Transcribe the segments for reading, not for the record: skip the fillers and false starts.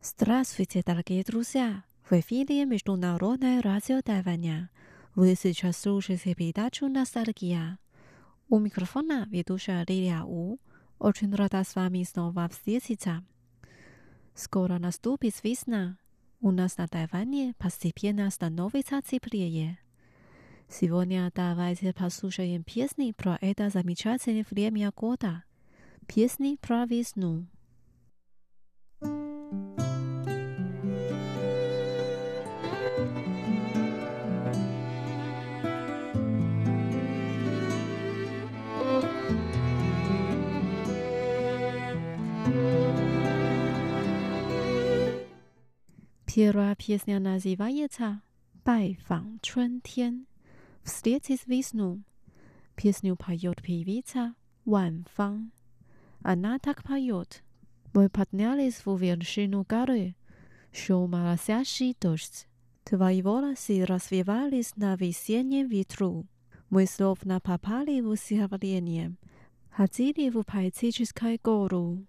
Здравствуйте, дорогие друзья! В эфире Международное радио Тайваня. Вы сейчас слушаете передачу «Ностальгия». У микрофона ведущая Лилия У. Очень рада с вами снова встретиться. Скоро наступит весна. У нас на Тайване постепенно становится теплее. Сегодня давайте послушаем песни про это замечательное время года. Песни про весну. Первая песня называется «Бай фан春天» «Встретить весну». Песню поет певица Ван Фан. Она так поет: мы поднялись в вершину горы, шел моросящий дождь. Твои волосы развивались на весеннем ветру. Мы словно попали в стихотворение, ходили в поэтическую гору.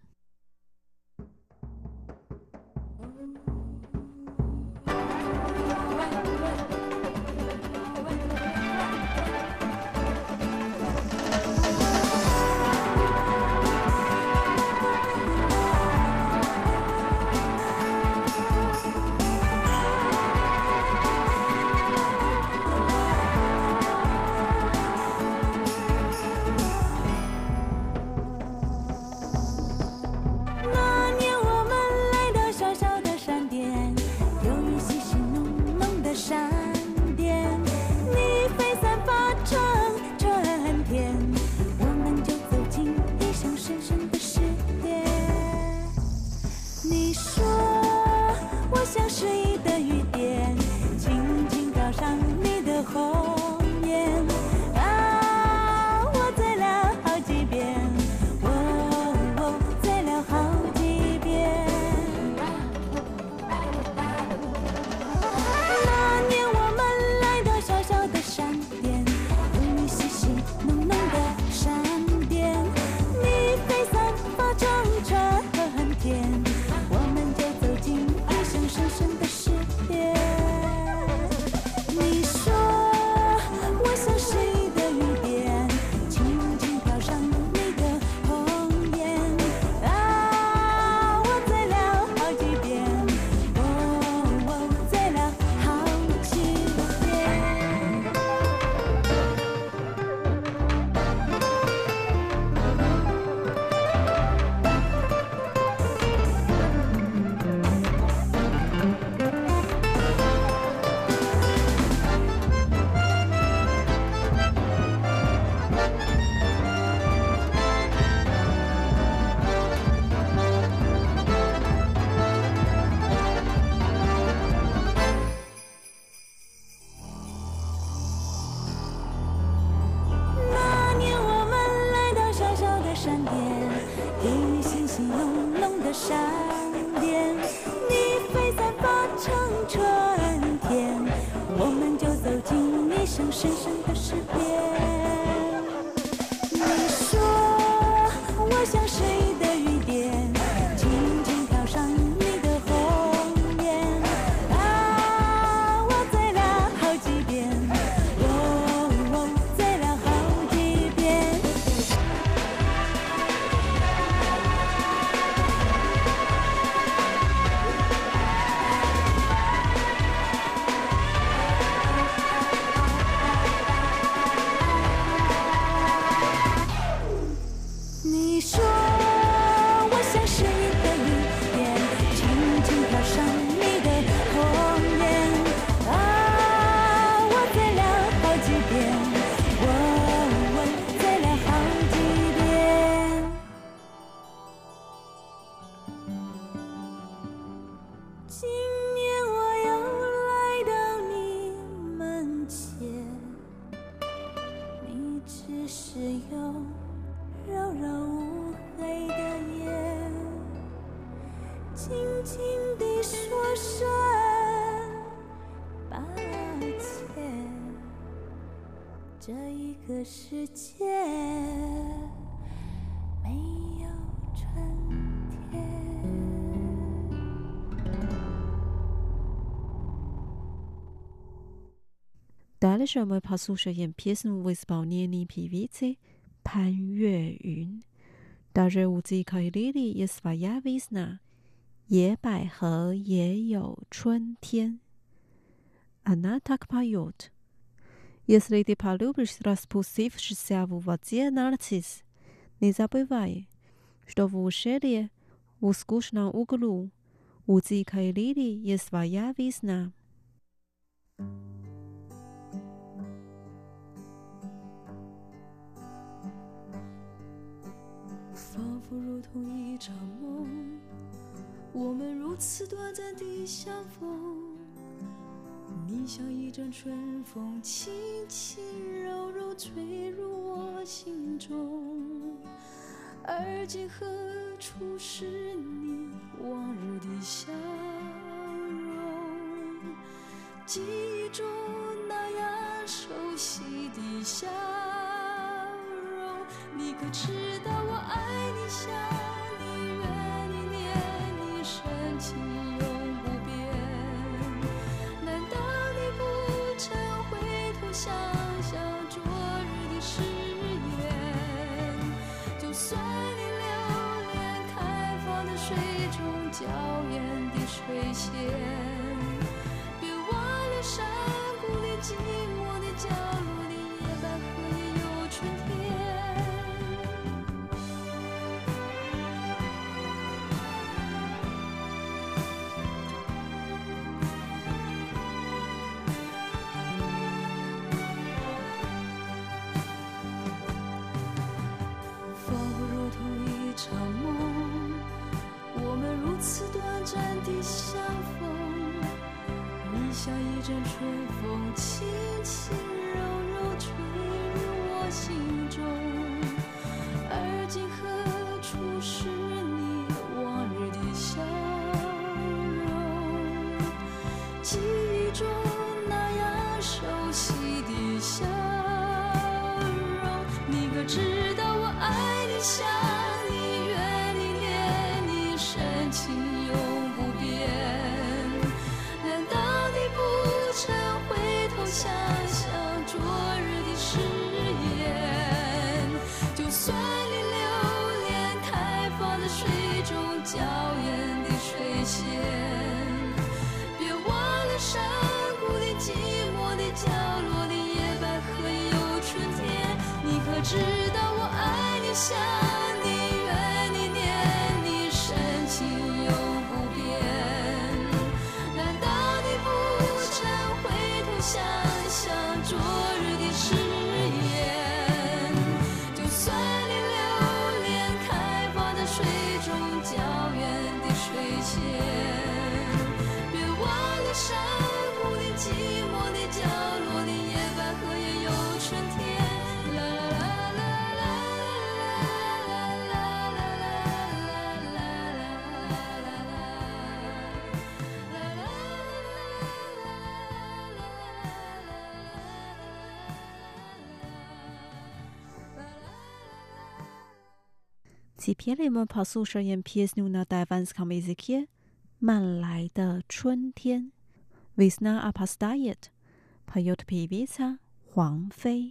世界没有春天。 Дальше мы послушаем песню в исполнении певицы Пан Юэюн. Даже у дикой лилии есть своя весна, 野百合也有春天. Она так поет. Если ты полюбишь распустившийся в воде нарцисс, не забывай, что в ущелье, в скучном углу, у дикой лилии есть своя весна. 仿佛如同一场梦，我们如此短暂地相逢。你像一阵春风，轻轻柔柔吹入我心中。而今何处是你往日的笑容？记忆中那样熟悉的笑容，你可知道我爱你、想你、怨你、念你，深情永不变。难道你不曾回头想想昨日的誓言？就算你留恋开放的水中娇艳的水仙，别忘了山谷里寂寞的角落里，野百合也有春天。仿佛如同一场梦，我们如此短暂地相逢。你像一阵春风，轻轻柔柔吹入我心中。而今何处是你往日的笑容？记忆中那样熟悉的笑容，你可知道我爱你、想你、怨你、念你，深情永不变。难道你不曾回头想想昨日的誓言？就算你留恋开放的水中娇艳的水仙，别忘了山谷里寂寞的角落里，野百合也有春天。你可知道我爱你、想你、怨你、念你，深情永不变。难道你不曾回头想想昨日的誓言？就算你留恋开放的水中娇艳的水仙，别忘了山谷里寂寞的角落里，野百合也有春天。啦啦啦啦啦啦啦 Теперь мы послушаем песню на тайванском языке «慢来的春天». Весна опоздает, поет певица Хуан Фэй.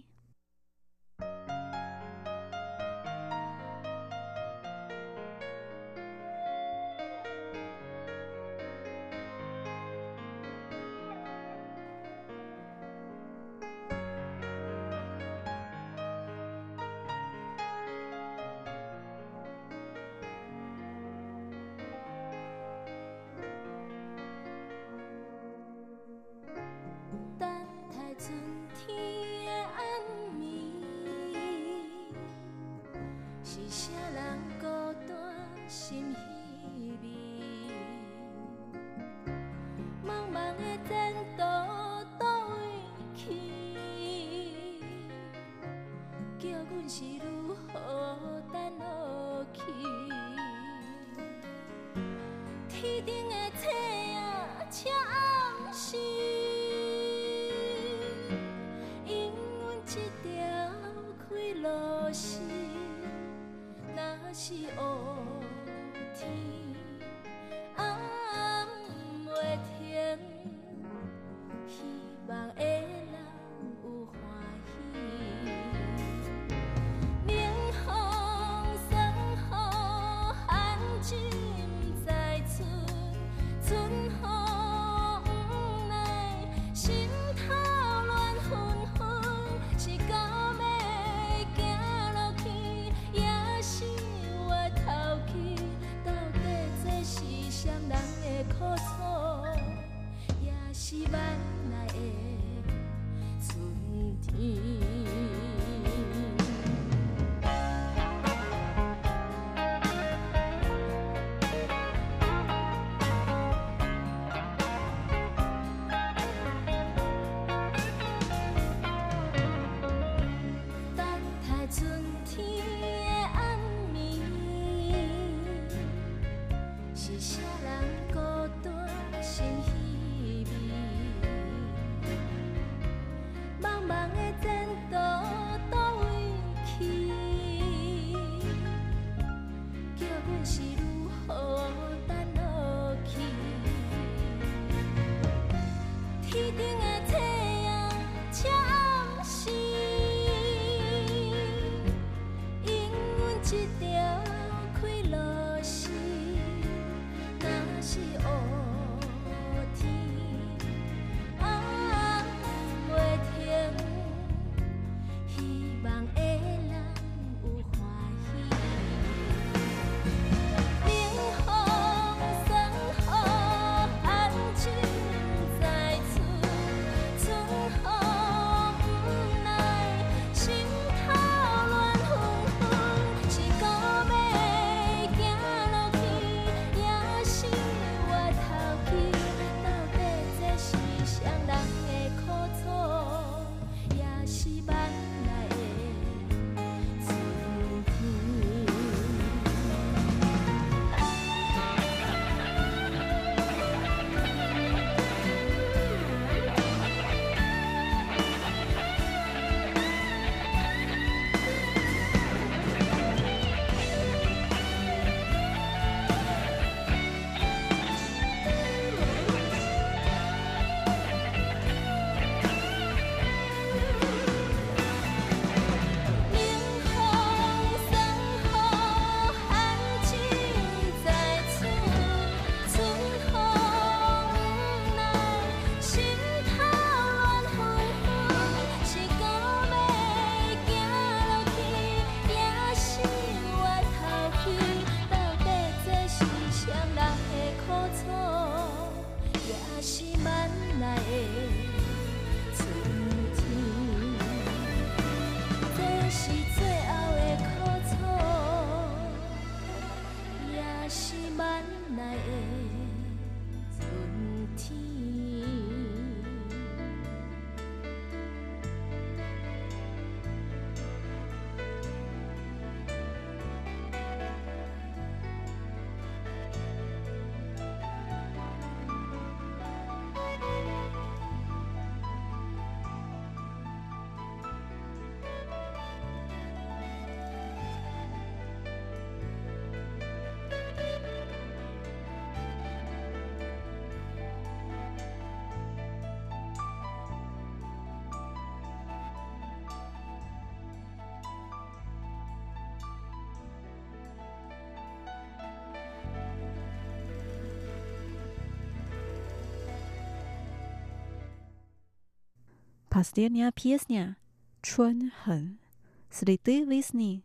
Последняя песня «春恨» «Следы весны».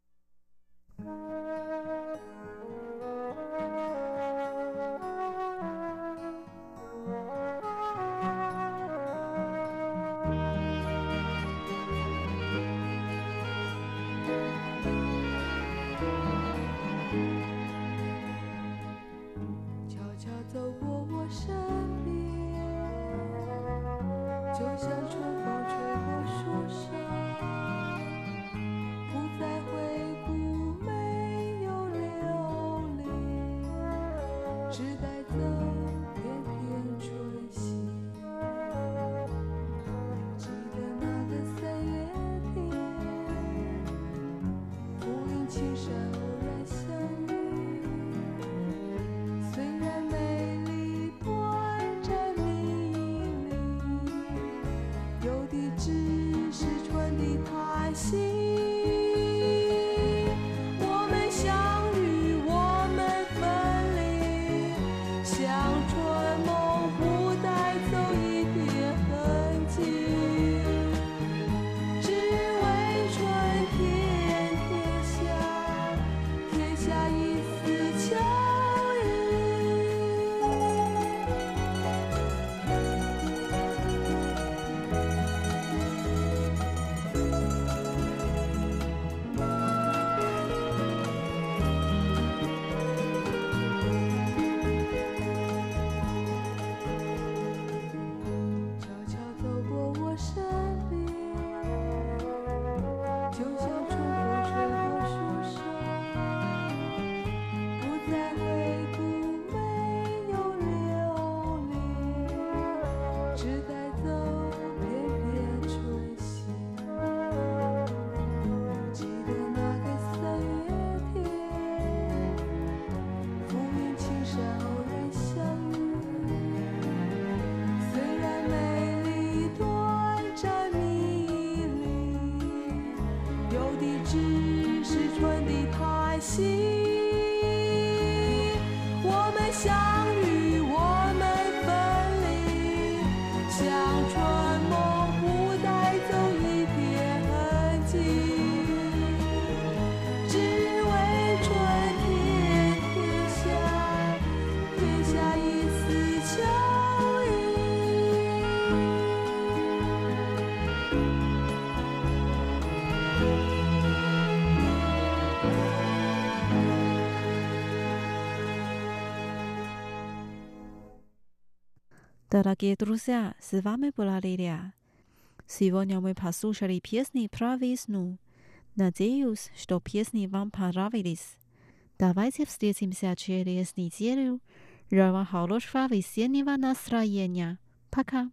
悄悄走过我身边，就像春风吹过树梢，不再回顾，没有留恋，只带走片片春熙。记得那个3月天，浮云青山偶然相遇，虽然美丽短暂迷离，有的只是春的叹息。我们相遇，我们分离，像春梦不带走一点痕迹，只为春天贴下一丝秋意。悄悄走过我身边，就像春风吹过树梢，不再回顾，没有留恋，只带走片片春熙。记得那个3月天，浮云青山偶然相遇，虽然美丽短暂迷离，有的只是春的叹息。我们相遇，我们分离，像春梦不带走一点痕迹，只为春天贴下一丝秋意。 Дорогие друзья, с вами была Лилия. Сегодня мы послушали песни про весну. Надеюсь, что песни вам понравились. Давайте встретимся через неделю. Желаю вам хорошего весеннего настроения. Пока!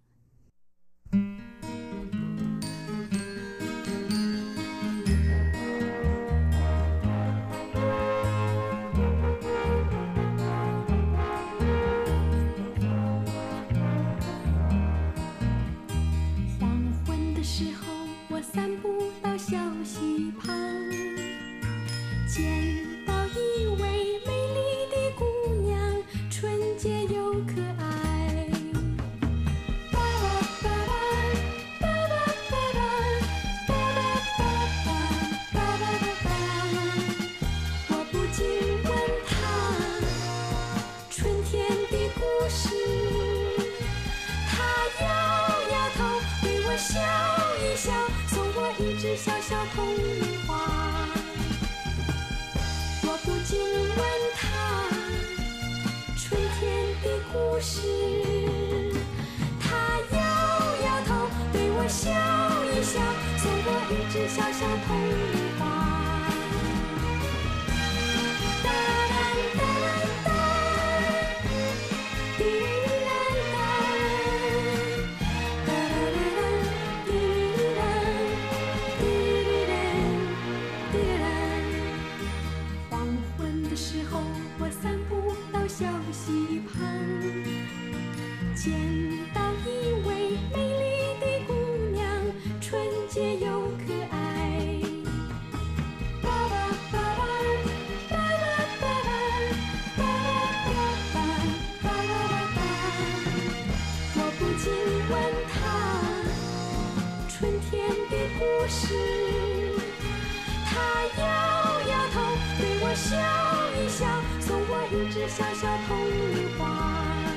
笑一笑，送我一枝小小铜铃花。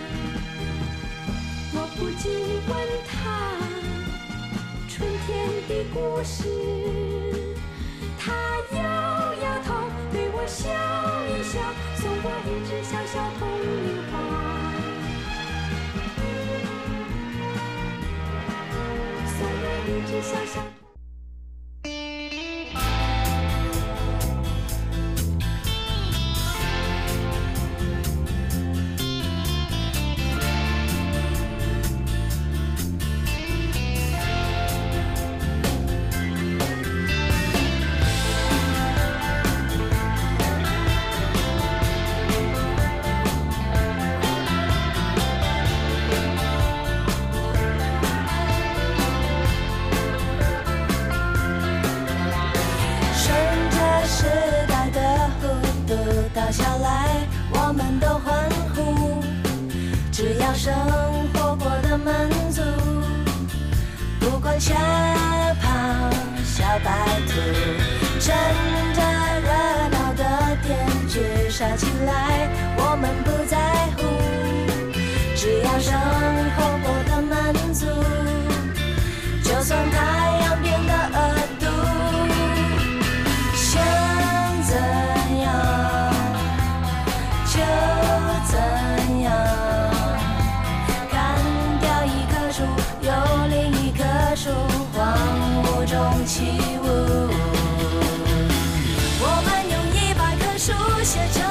我不禁问他春天的故事，他摇摇头，对我笑一笑，送我一枝小小铜铃花。送我一枝小小。生活过得满足，不管小跑小白兔，趁着热闹的天剧杀起来，我们不在乎，只要生活过得满足，就算太阳变得恶毒，想怎样就怎样。有另一棵树荒芜中起舞，我们用100棵树写成